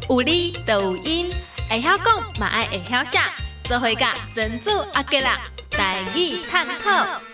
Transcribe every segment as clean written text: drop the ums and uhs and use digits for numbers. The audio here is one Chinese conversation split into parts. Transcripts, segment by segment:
有理就有因，会晓讲嘛爱会晓写，做伙甲珍珠阿吉啦，台语探讨。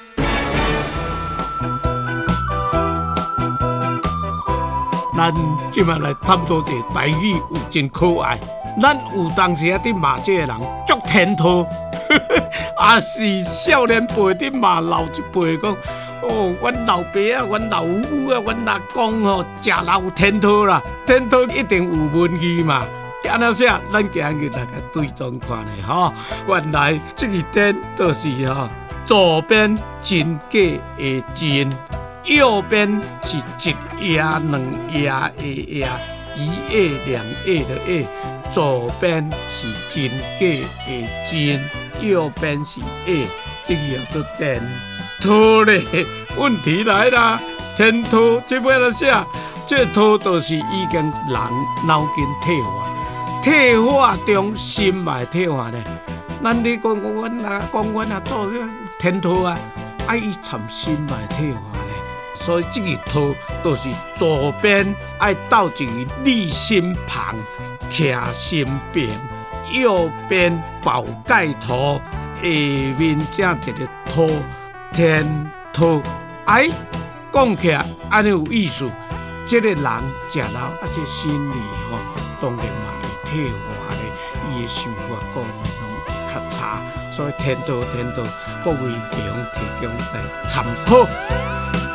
咱即摆来探讨一下台语有真可爱。咱有当时啊，伫骂这个人足天土，也是少年辈伫骂老一辈讲，哦，阮老爸啊，阮老母啊，阮阿公吼，食老有天土啦，天土一定有文气嘛。安怎写？咱今日来甲对撞看咧吼。原来这个天就是吼，左边真假的真。右边是一夜两夜的夜，一夜两夜的夜，左边是真假的真，右边是夜，这个叫做天土咧。问题来啦，天土这摆来写，这土就是已经人脑筋退化，退化中心脉退化咧。咱你讲阮啊，讲阮啊做天土啊，爱伊参心脉退化。所以这个土就是左边爱倒一个立心旁，徛心边；右边宝盖头，下面这一个土，天土。哎，讲起来安尼有意思。这个人食老，这心理吼，当然嘛会退化咧，伊的想法各面拢会较差。所以天土，各位弟兄提供来参考。